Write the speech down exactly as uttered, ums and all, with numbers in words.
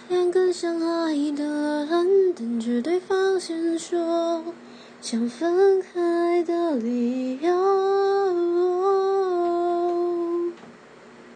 两个相爱的人等着对方先说想分开的理由。